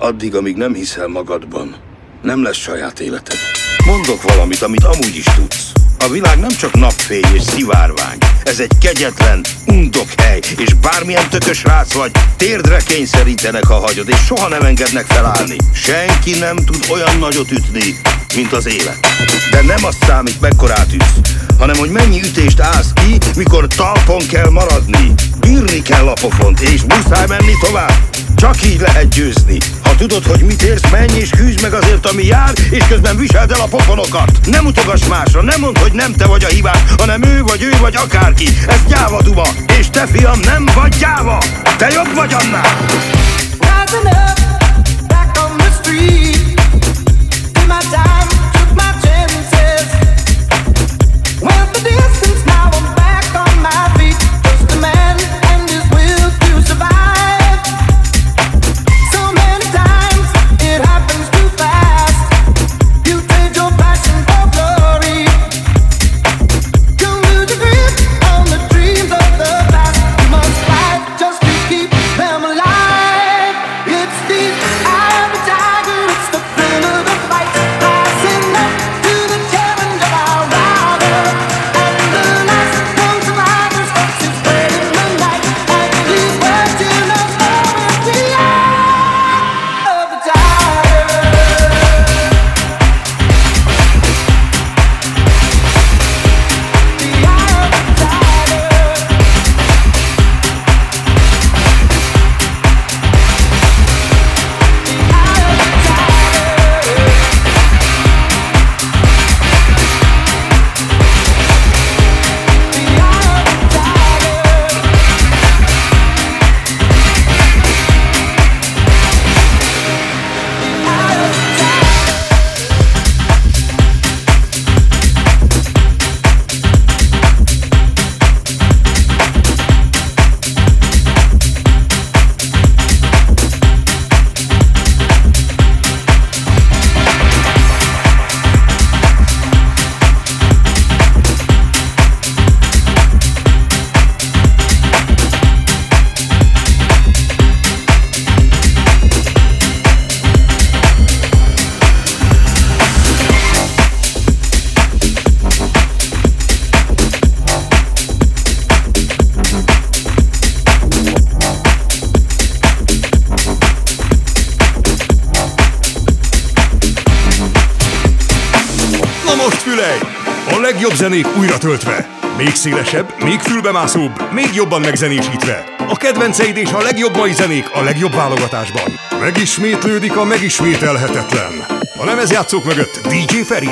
Addig, amíg nem hiszel magadban, nem lesz saját életed. Mondok valamit, amit amúgy is tudsz. A világ nem csak napfény és szivárvány. Ez egy kegyetlen, undok hely, és bármilyen tökös rác vagy, térdre kényszerítenek, ha hagyod, és soha nem engednek felállni. Senki nem tud olyan nagyot ütni, mint az élet. De nem azt számít, mekkorát ütsz, hanem hogy mennyi ütést állsz ki, mikor talpon kell maradni. Bírni kell a pofont, és muszáj menni tovább. Csak így lehet győzni. Ha tudod, hogy mit érsz, menj és küzd meg azért, ami jár, és közben viseld el a pofonokat. Nem utogass másra, nem mondd, hogy nem te vagy a hibás, hanem ő vagy akárki. Ez gyáva duma, és te fiam nem vagy gyáva. Te jobb vagy annál. Rising up, back on the street. Did my time, took my chances. Went the distance, now I'm back on my feet. Just a man and his will to survive. So many times it happens too fast. You trade your passion for glory. You lose your grip on the dreams of the past. You must fight just to keep them alive. It's the eye of the tiger, it's the thrill of the fight. Rising up to the challenge of our rival. And the last known survivor's voice is spread in the night. And he's watching us all with the eye of the tiger. The eye of the tiger. A legjobb zenék újra töltve. Még szélesebb, még fülbemászóbb, még jobban megzenésítve. A kedvenceid és a legjobb mai zenék a legjobb válogatásban. Megismétlődik a megismételhetetlen. A lemezjátszók mögött DJ Feri.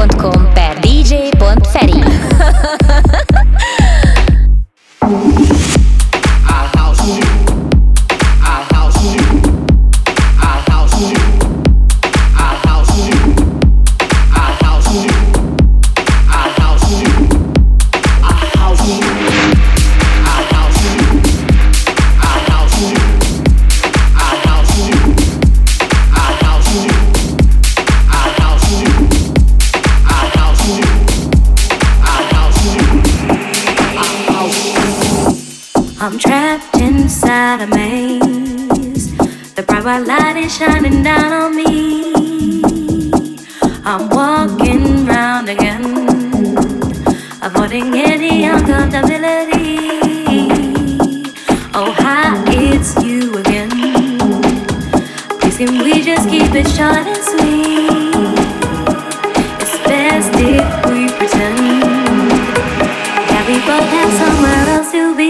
facebook.com/dj.feri. I'm trapped inside a maze. The bright white light is shining down on me. I'm walking round again, avoiding any uncomfortability. Oh, hi, it's you again. Please can we just keep it short and sweet? It's best if we pretend that we both have somewhere else to be.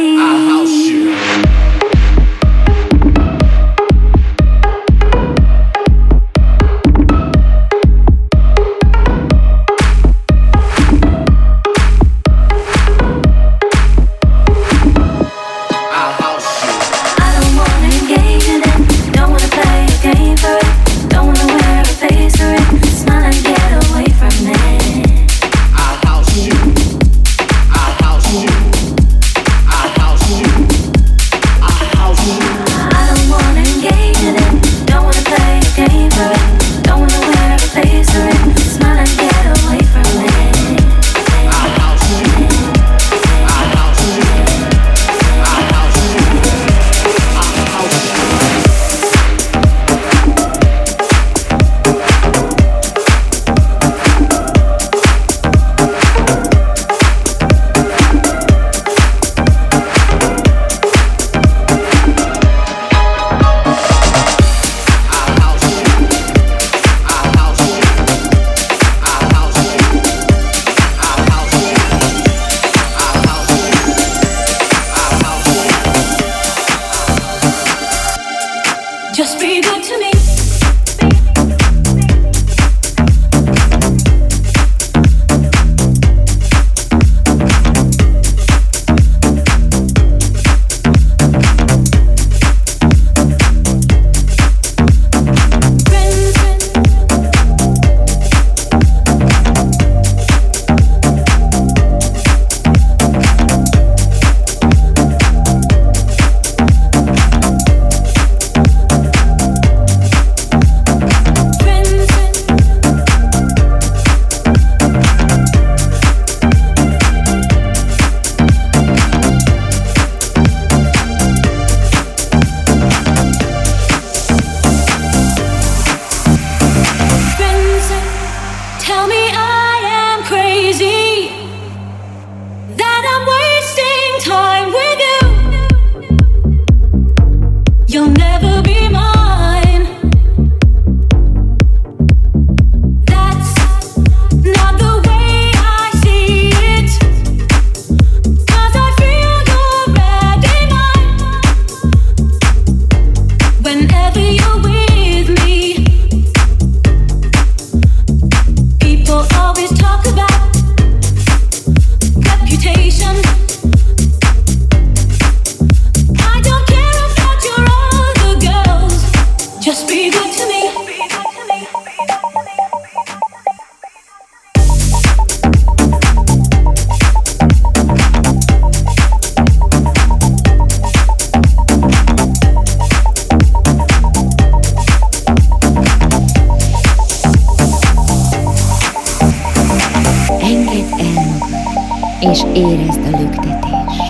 és érezd a lüktetést.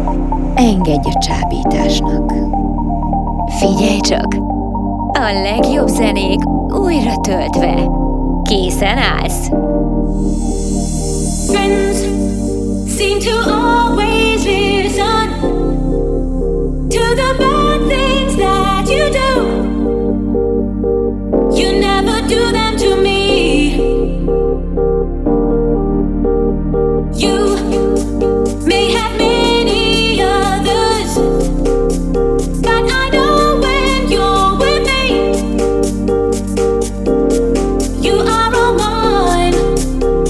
Engedj a csábításnak. Figyelj csak! A legjobb zenék újra töltve. Készen állsz? Friends seem to always listen to the bad things that you do. You never do them to me. You may have many others, but I know when you're with me, you are all mine.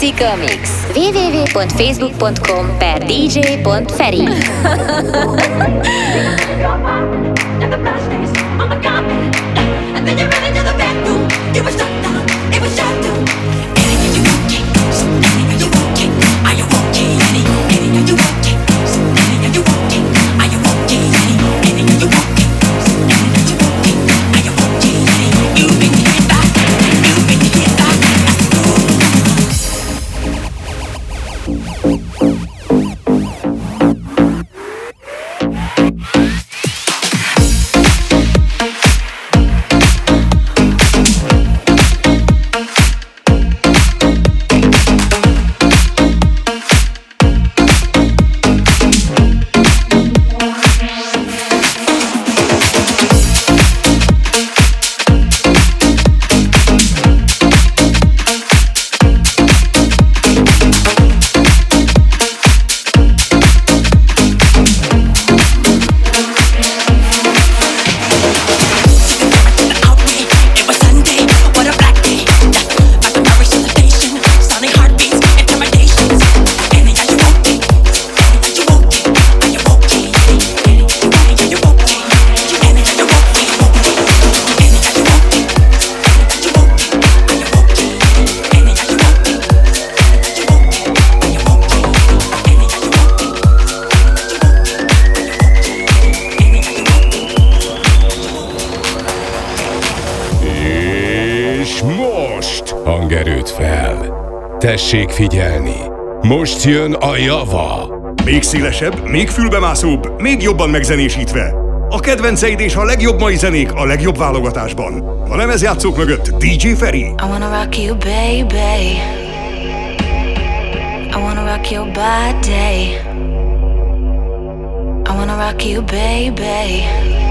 Pszicha Mix. www.facebook.com/dj.feri. Hangerőt fel! Tessék figyelni! Most jön a java! Még szélesebb, még fülbemászóbb, még jobban megzenésítve. A kedvenceid és a legjobb mai zenék a legjobb válogatásban. A lemezjátszók mögött DJ Feri. I wanna rock you, baby. I wanna rock your body. I wanna rock you, baby.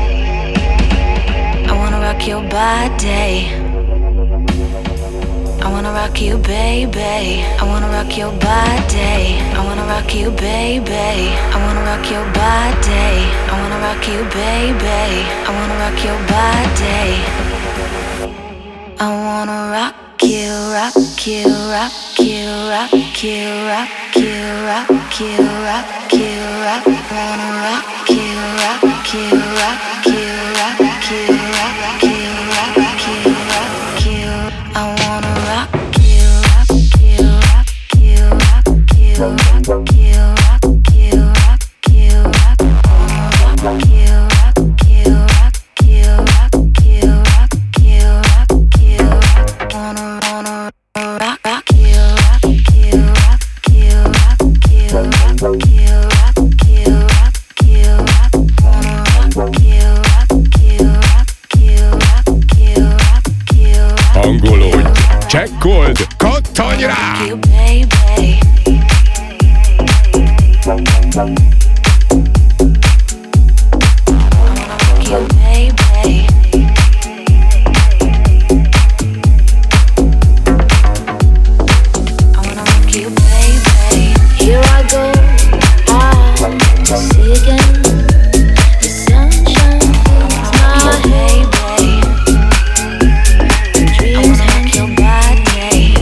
I wanna rock your body. I wanna rock you, baby. I wanna rock your body. I wanna rock you, baby. I wanna rock your body. I wanna rock you, baby. I wanna rock your body. I wanna rock you, rock you, rock you, rock you, rock you, rock you, rock you, rock. Wanna rock you, rock you, rock you, rock you, rock you, rock you, rock you. I wanna rock you, rock you, rock you, rock you, rock you, rock you, rock you, rock. Wanna rock you, rock you, rock you, rock you, rock you, rock you, rock. Wanna rock you, rock you, rock you, rock you, rock you, rock you, rock you, rock. Wanna rock you, rock you, rock you, rock you, rock you, rock. Hangolódj! Csekkold! Kattanj rá! You, baby. I wanna rock you, baby. I wanna rock you, baby. Here I go, to see again. The sunshine fills my baby. Dreams hang your body.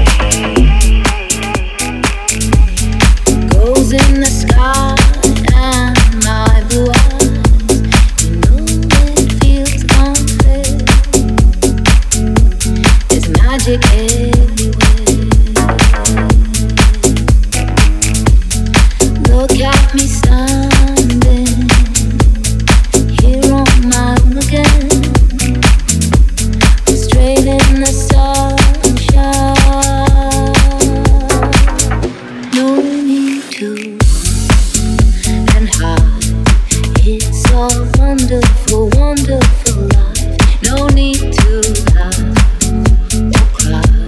Goes in the sky and my blue eyes. You know it feels complete. There's magic everywhere. Look at me standing here on my own again. I'm straight in the sunshine. No need to and hide. It's a wonderful, wonderful life. No need to laugh or cry.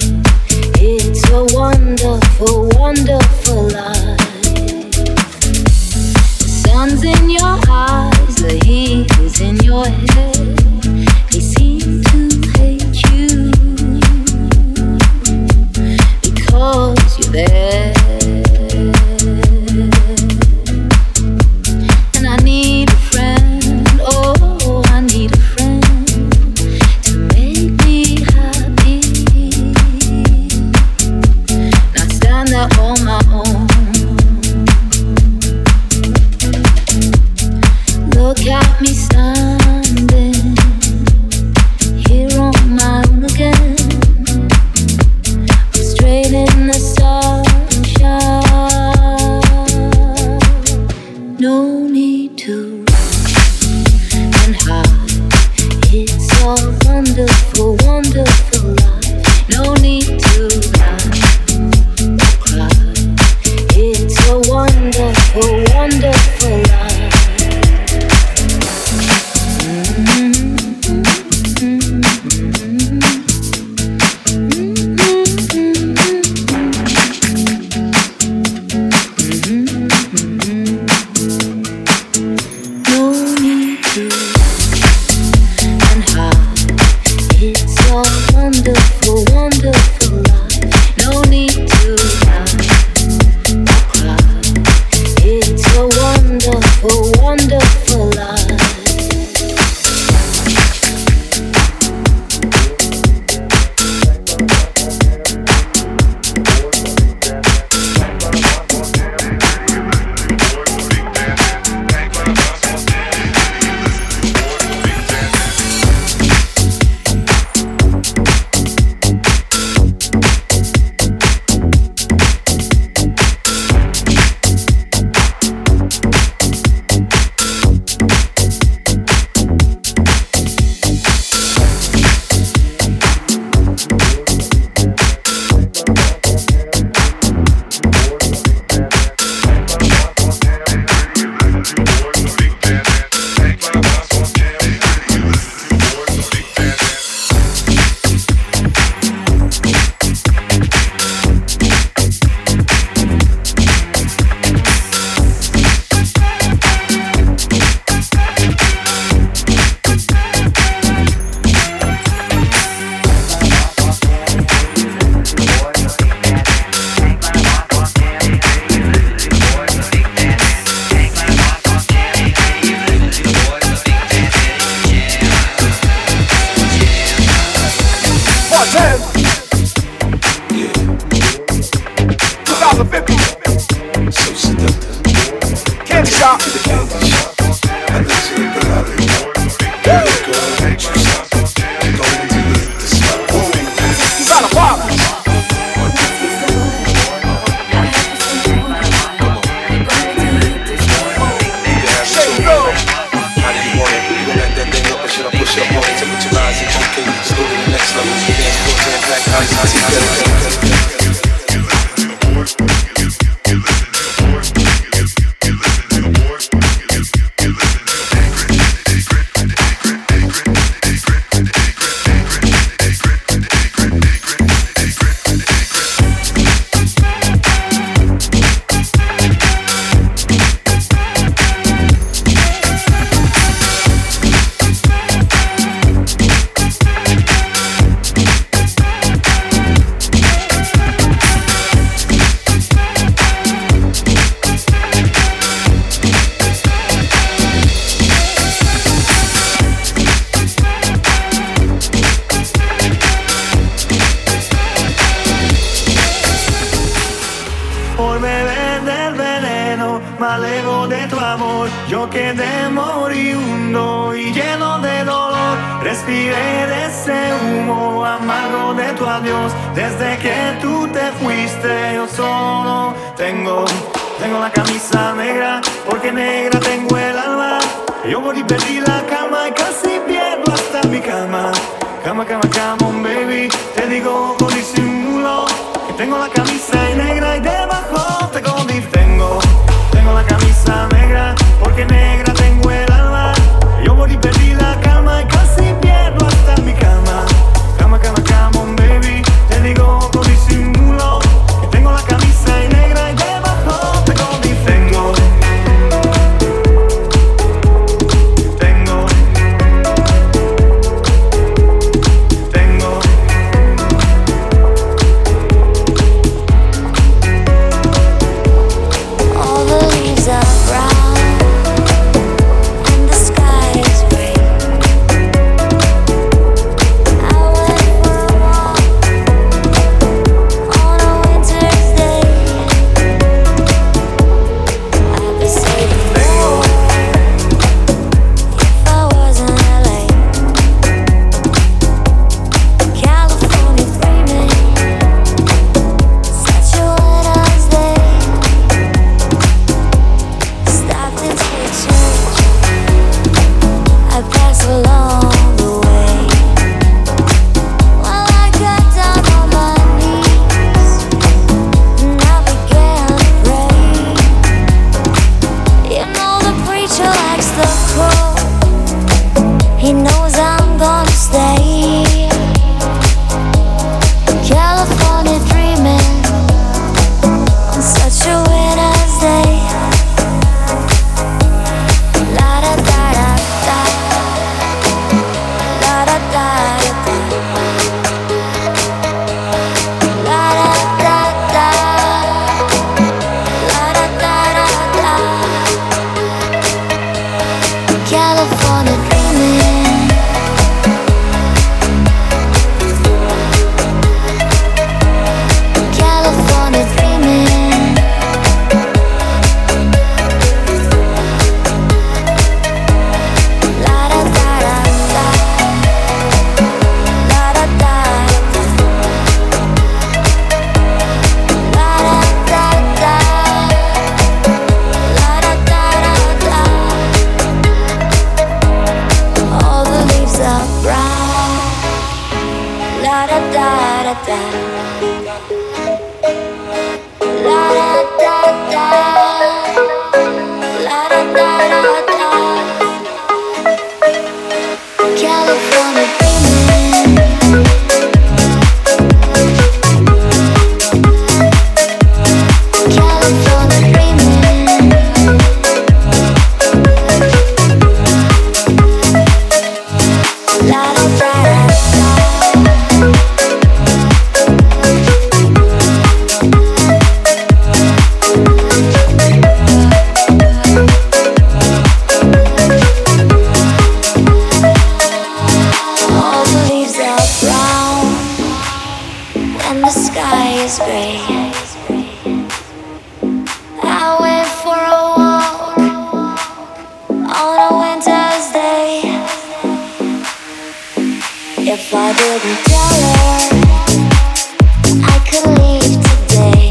If I didn't tell her I could leave today,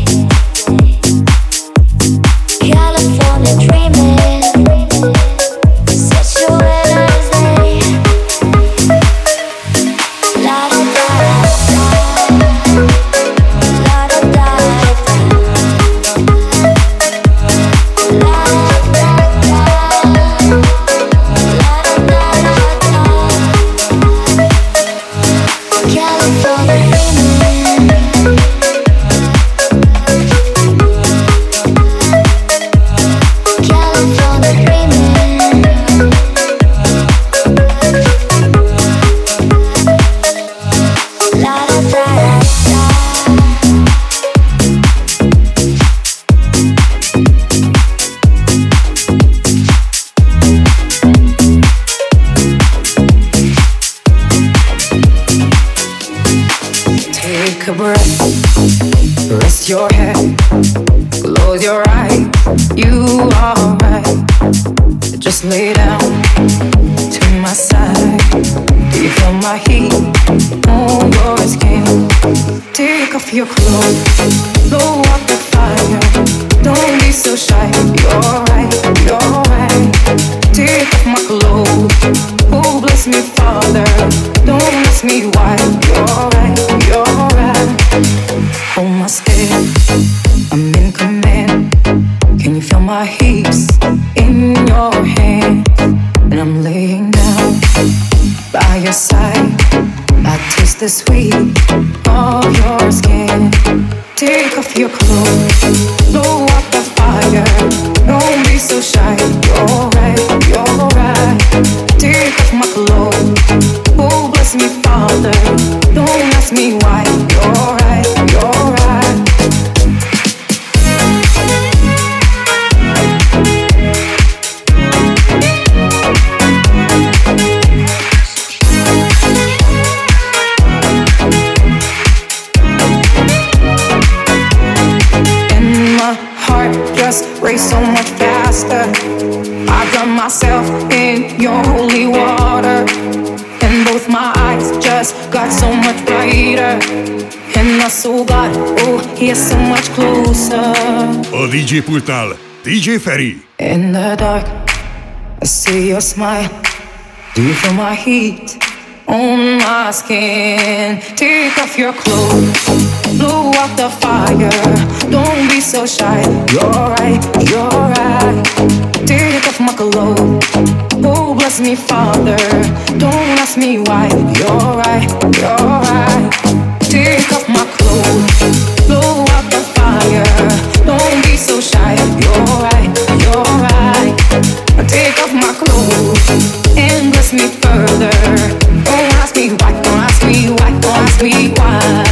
California dreaming, such a winter's day. La da da da, la da da da, la da da da, la da da da. California dreaming, California dreaming, la da da da. Take a breath, rest your head, close your eyes, you are right. Just lay down to my side. Do you feel my heat on your skin? Take off your clothes, blow up the fire. Don't be so shy, you're right, you're right. Take off my clothes, oh bless me Father. Don't ask me why, you're right, you're right. Hold my step, I'm in command. Can you feel my hips in your hand? And I'm laying down by your side. I taste the sweet of your skin. Take off your clothes, blow up the fire. Don't be so shy, you're right, you're right. Take off my clothes, oh bless me Father. Don't ask me why, you're right, you're right. Just race so much faster. I drown myself in your holy water, and both my eyes just got so much brighter. And my soul got, oh, here so much closer. A DJ pultnál DJ Feri. In the dark, I see your smile. Do you feel my heat on my skin? Take off your clothes, blow out the fire. Don't be so shy, you're right, you're right. Take off my clothes, oh bless me Father. Don't ask me why, you're right, you're right. Take off my clothes, blow out the fire. Don't be so shy, you're right, you're right. Take off my clothes and bless me further. Don't ask me why, don't ask me why, don't ask me why.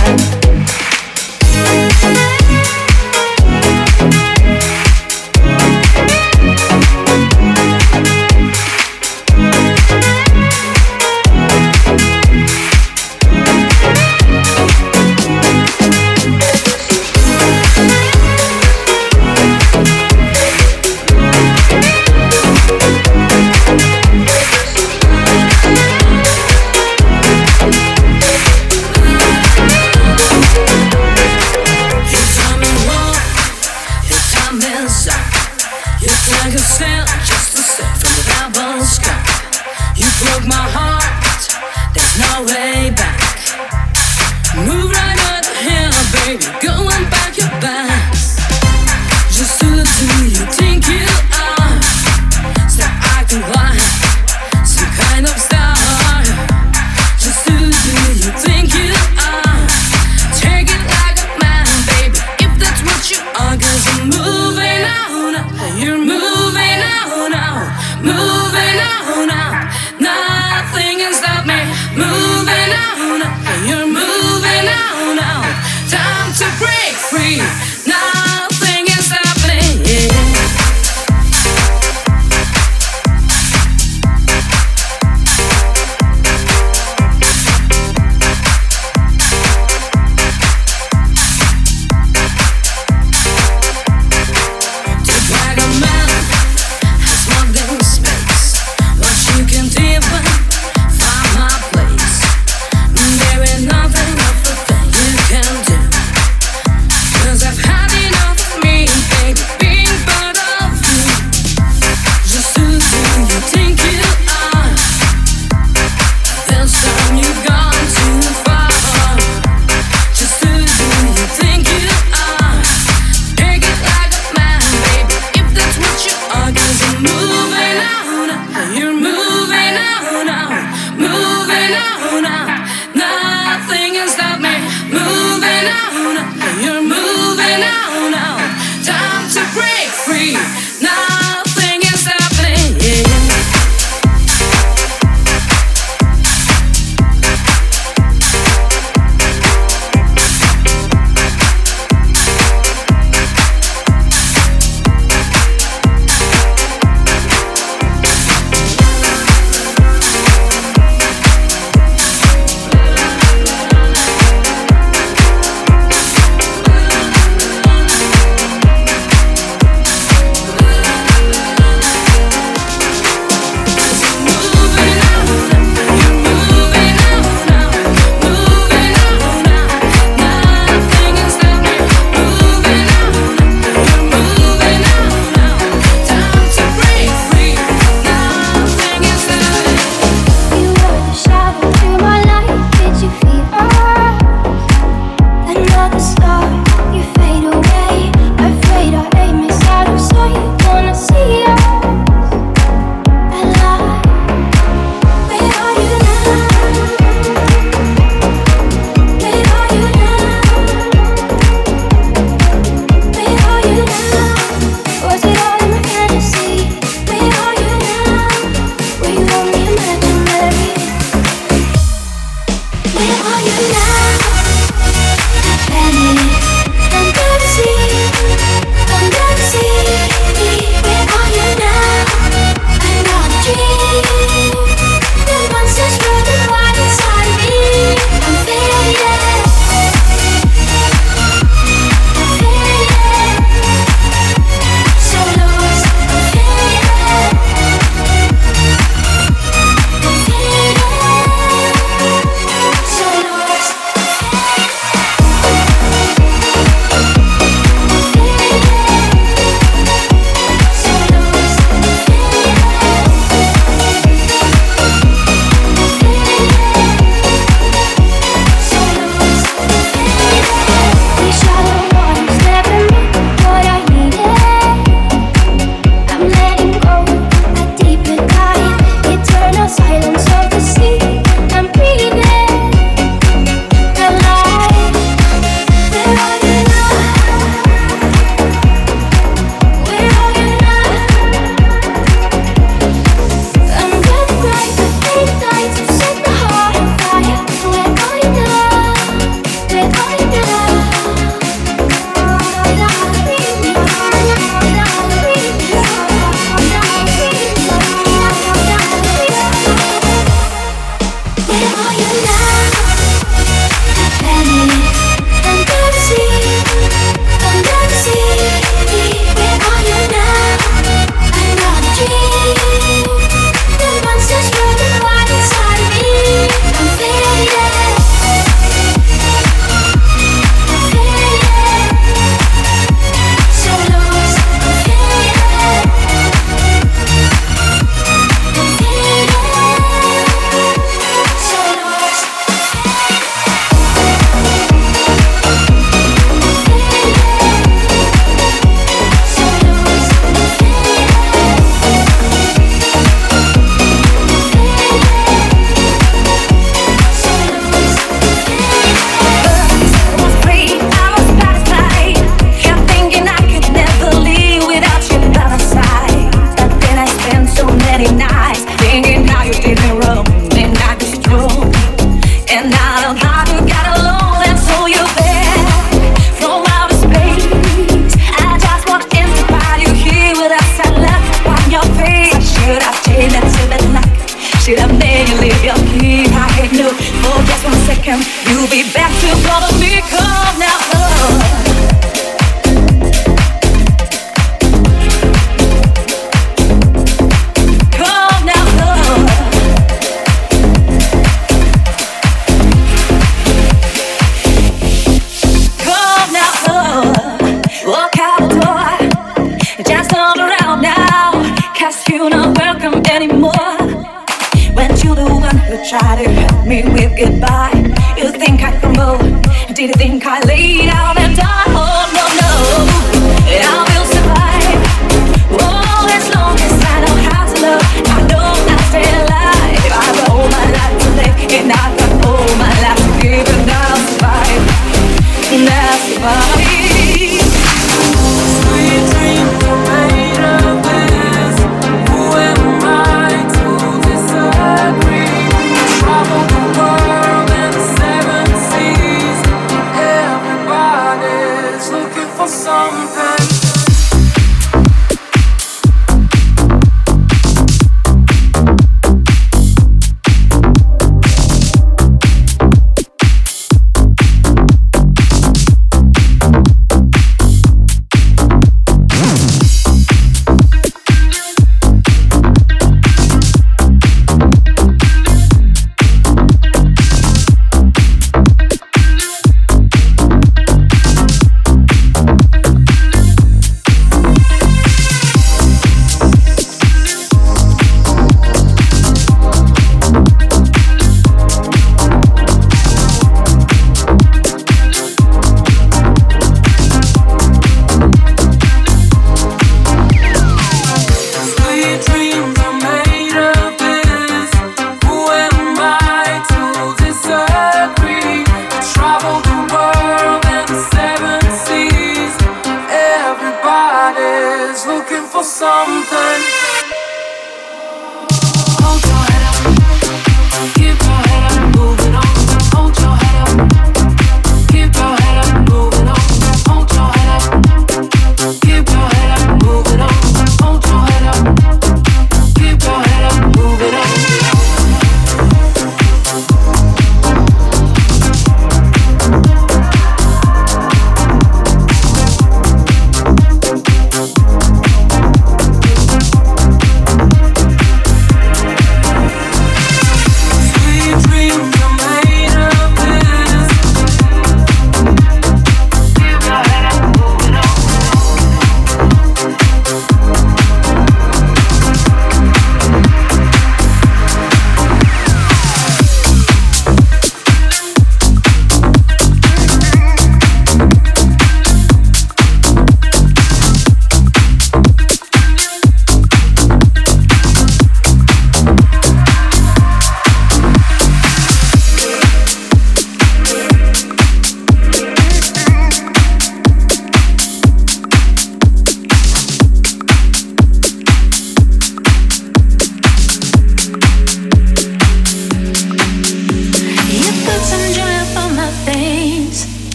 Moving on, nothing can stop me moving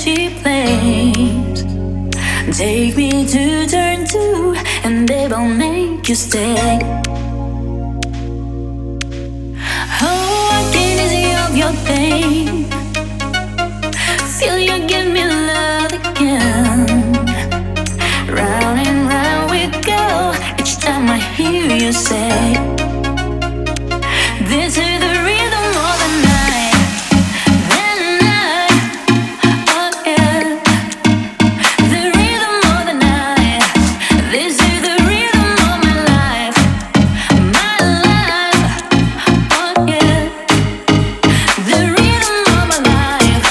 empty place. Take me to turn two, and babe, I'll make you stay. Oh, I can ease of your pain. Feel you give me love again. Round and round we go. Each time I hear you say, this is the rhythm of the night. The night, oh yeah. The rhythm of the night. This is the rhythm of my life. My life, oh yeah. The rhythm of my life.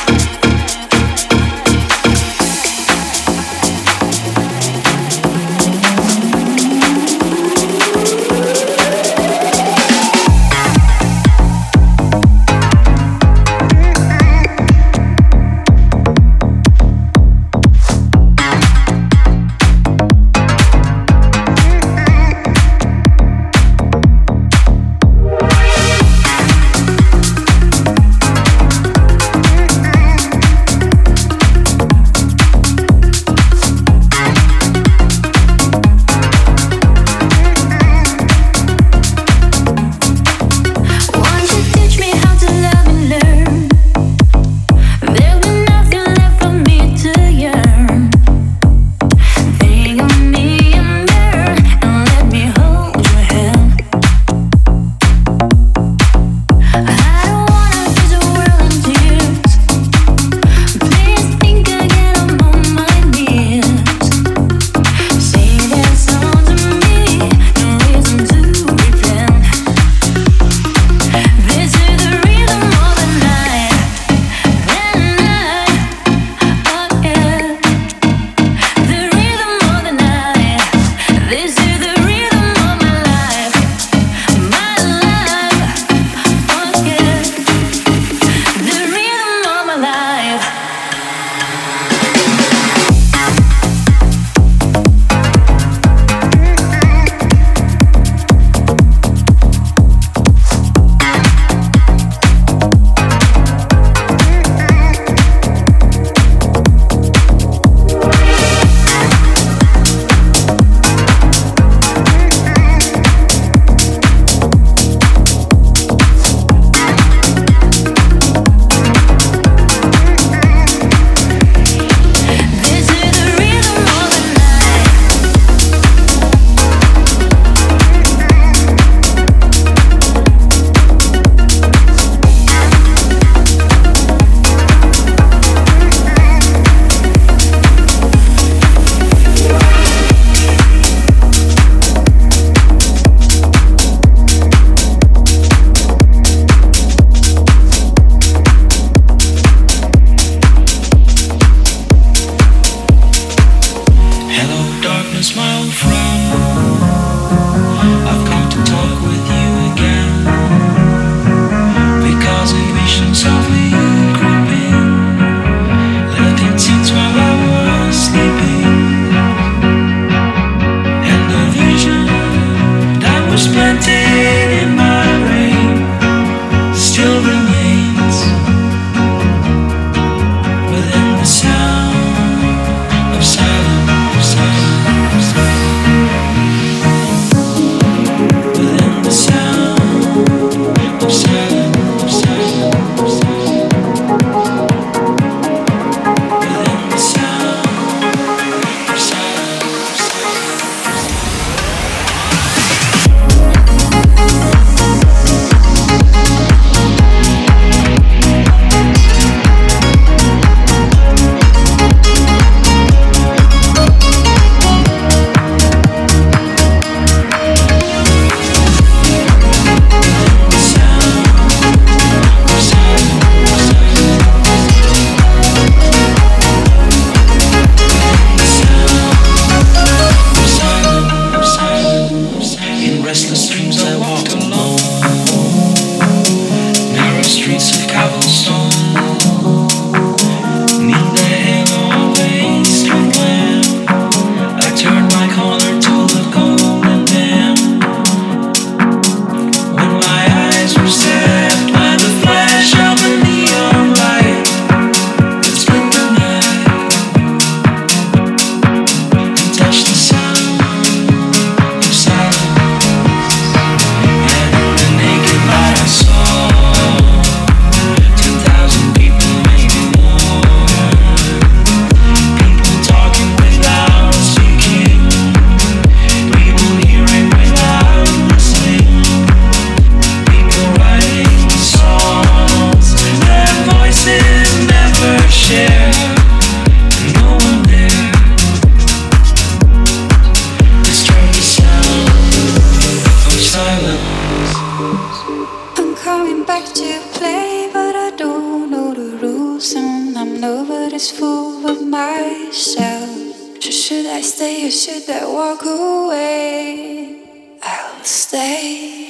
going back to play, but I don't know the rules, and I'm nobody's fool but myself. So should I stay or should I walk away? I'll stay.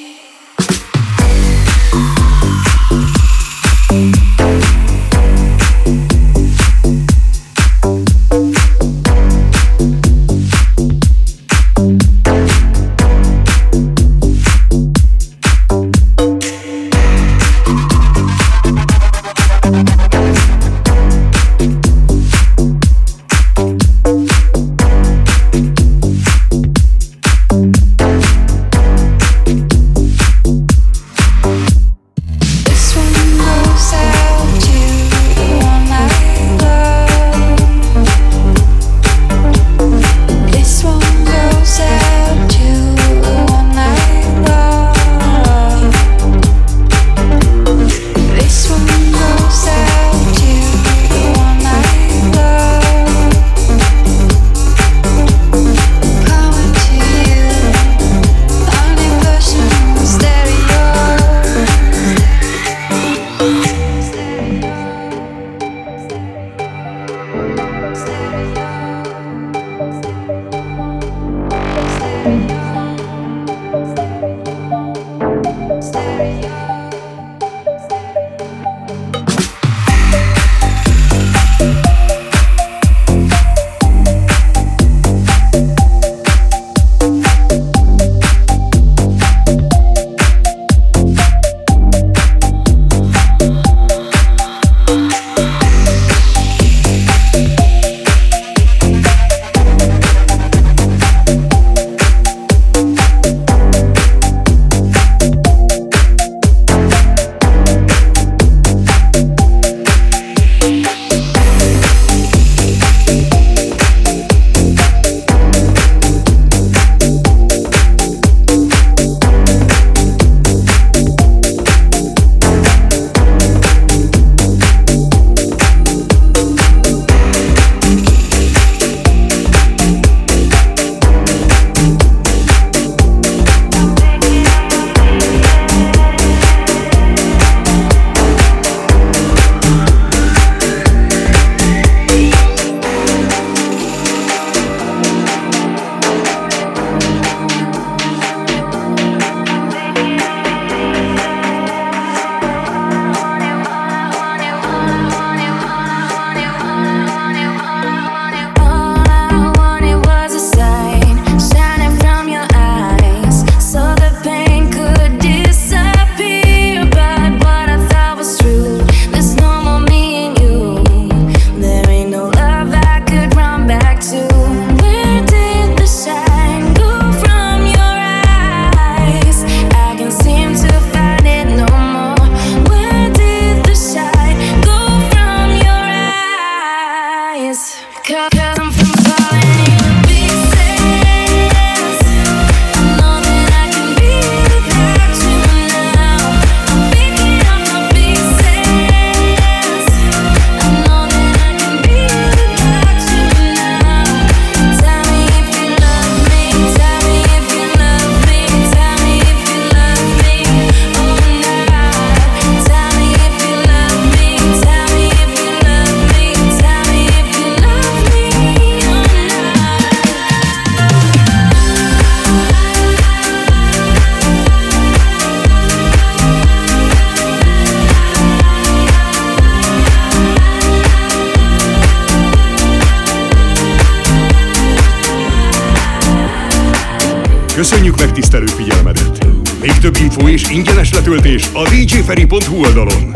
Köszönjük megtisztelő figyelmedet! Még több infó és ingyenes letöltés a djferry.hu oldalon.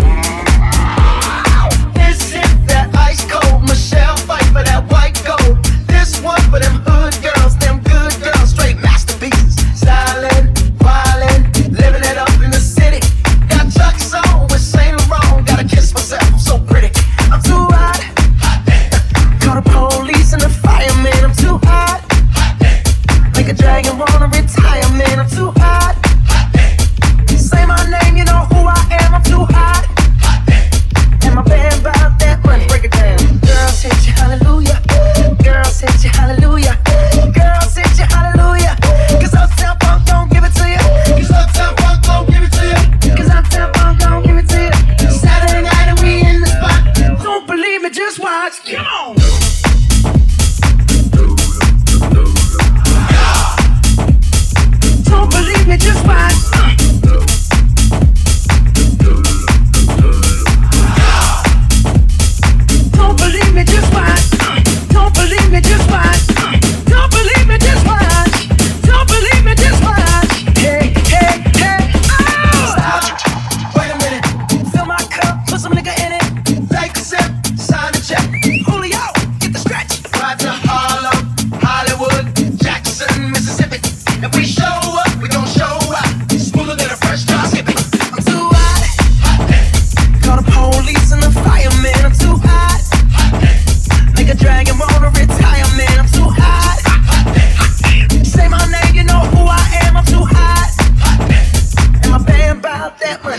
Say my name, you know who I am, I'm too hot.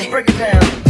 break it down.